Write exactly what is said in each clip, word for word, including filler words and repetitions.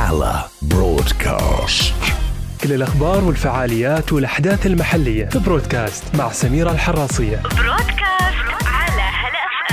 هالة برودكاست. كل الأخبار والفعاليات والأحداث المحلية في برودكاست مع سميرة الحراصية. برودكاست على هلا اف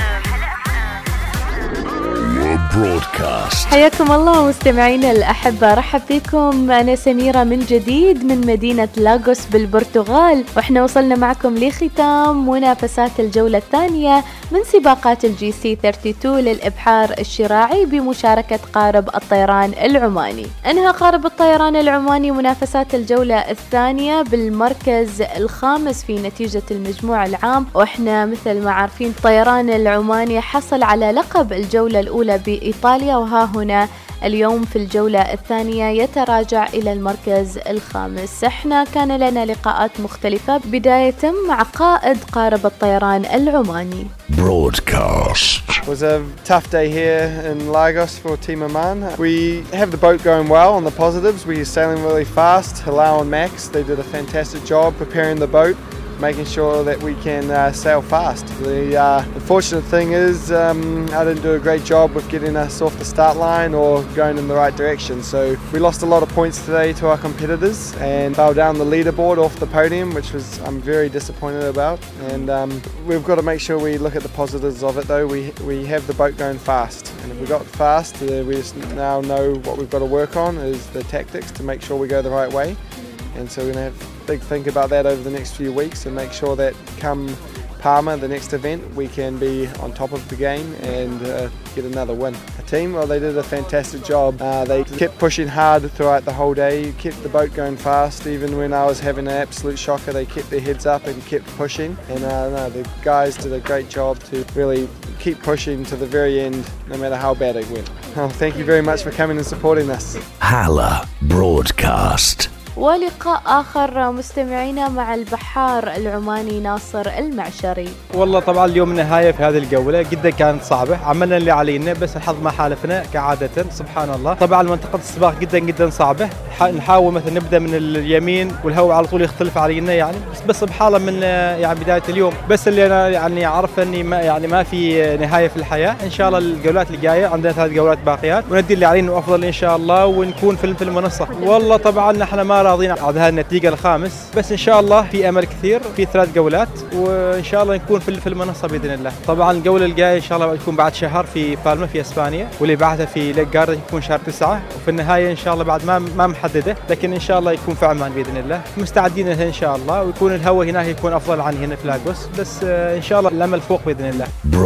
ام. برودكاست. حياكم الله مستمعينا الأحبة، رحب فيكم. أنا سميرة من جديد من مدينة لاغوس بالبرتغال، وإحنا وصلنا معكم لختام منافسات الجولة الثانية من سباقات الجي سي ثلاثة وثلاثين للإبحار الشراعي بمشاركة قارب الطيران العماني. انهى قارب الطيران العماني منافسات الجولة الثانية بالمركز الخامس في نتيجة المجموع العام، وإحنا مثل ما عارفين الطيران العماني حصل على لقب الجولة الأولى بإيطاليا، وها هنا اليوم في الجولة الثانية يتراجع إلى المركز الخامس. احنا كان لنا لقاءات مختلفة، بداية مع قائد قارب الطيران العماني. Broadcast. It was a tough day here in Lagos for Team Oman. We have the boat going well on the positives. We are sailing really fast. Halal and Max, they did a fantastic job preparing the boat, making sure that we can uh, sail fast. The uh, unfortunate thing is um, I didn't do a great job with getting us off the start line or going in the right direction. So we lost a lot of points today to our competitors and fell down the leaderboard off the podium, which was I'm very disappointed about. And um, we've got to make sure we look at the positives of it though. We, we have the boat going fast. And if we got fast, uh, we just now know what we've got to work on is the tactics to make sure we go the right way. And so we're going to have a big think about that over the next few weeks and make sure that come Palma, the next event, we can be on top of the game and uh, get another win. The team, well, they did a fantastic job. Uh, they kept pushing hard throughout the whole day, kept the boat going fast. Even when I was having an absolute shocker, they kept their heads up and kept pushing. And uh, no, the guys did a great job to really keep pushing to the very end, no matter how bad it went. Oh, thank you very much for coming and supporting us. Hala Broadcast. ولقاء آخر مستمعينا مع البحار العماني ناصر المعشري. والله طبعا اليوم النهاية في هذه الجولة جدا كانت صعبة، عملنا اللي علينا بس الحظ ما حالفنا كعادة سبحان الله. طبعا منطقة السباق جدا جدا صعبة، نحاول مثلا نبدأ من اليمين والهواء على طول يختلف علينا يعني، بس بس بحالة من يعني بداية اليوم. بس اللي أنا يعني عارف إني ما يعني ما في نهاية في الحياة. إن شاء الله الجولات الجاية عندنا ثلاث جولات باقيات وندي اللي علينا أفضل إن شاء الله ونكون في في المنصة. والله طبعا نحن ما راضين على هذه النتيجة الخامس، بس إن شاء الله في أمل كثير في ثلاث جولات وإن شاء الله نكون في في المنصة بإذن الله. طبعا الجولة الجاية إن شاء الله تكون بعد شهر في بالما في إسبانيا، واللي بعدها في ليك جاردن يكون شهر تسعة، وفي النهاية إن شاء الله بعد ما ما محددة، لكن إن شاء الله يكون في عمان بإذن الله. مستعدين لها إن شاء الله، ويكون الهواء هناك يكون أفضل عن هنا في لاغوس، بس إن شاء الله الأمل فوق بإذن الله.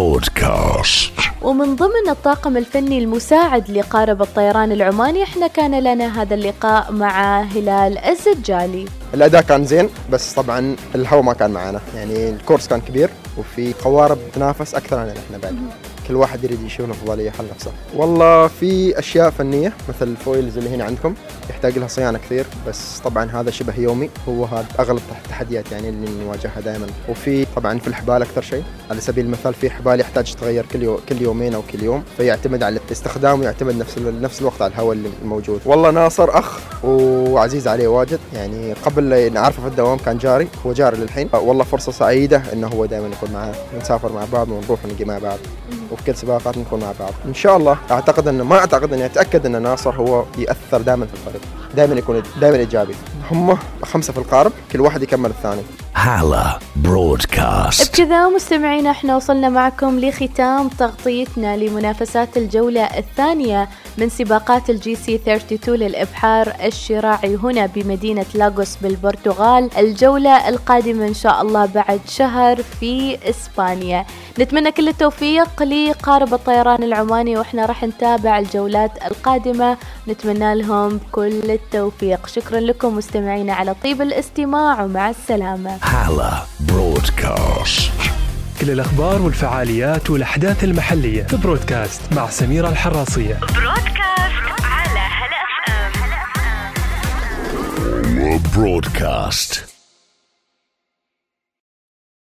برودكاست. ومن ضمن الطاقم الفني المساعد لقارب الطيران العماني احنا كان لنا هذا اللقاء مع هلال الزجالي. الأداء كان زين، بس طبعا الهواء ما كان معنا، يعني الكورس كان كبير وفي قوارب تنافس أكثر عن احنا بعد، كل واحد يريد يشوف أفضلية حل نفسه. والله في أشياء فنية مثل الفويلز اللي هنا عندكم يحتاج لها صيانة كثير، بس طبعا هذا شبه يومي، هو هذا أغلب التحديات يعني اللي نواجهها دائما. وفي طبعا في الحبال أكثر شيء، على سبيل المثال في حبال يحتاج تغير كل يوم كل يومين أو كل يوم، فيعتمد على الاستخدام ويعتمد نفس نفس الوقت على الهواء اللي موجود. والله ناصر أخ وعزيز عليه واجد، يعني قبل نعرفه في الدوام كان جاري، هو جاري للحين. والله فرصة سعيدة إنه هو دائما يكون معنا، نسافر مع بعض ونروح ونجي مع بعض، وفي كل سباقات نكون مع بعض إن شاء الله. أعتقد إنه ما أعتقد إني أتأكد إن ناصر هو يأثر دائما في الفريق، دائما يكون دائما إيجابي. هم خمسة في القارب، كل واحد يكمل الثاني. هالة برودكاست. بكذا مستمعينا احنا وصلنا معكم لختام تغطيتنا لمنافسات الجولة الثانية من سباقات الجي سي ثلاثة وثلاثين للإبحار الشراعي هنا بمدينة لاغوس بالبرتغال. الجولة القادمة إن شاء الله بعد شهر في إسبانيا. نتمنى كل التوفيق لقارب الطيران العماني، وإحنا راح نتابع الجولات القادمة، نتمنى لهم كل التوفيق. شكرا لكم مستمعينا على طيب الاستماع، ومع السلامة. هالة برودكاست. كل الأخبار والفعاليات والأحداث المحلية في برودكاست مع سميرة الحراصية. برودكاست على هلا اف ام. برودكاست.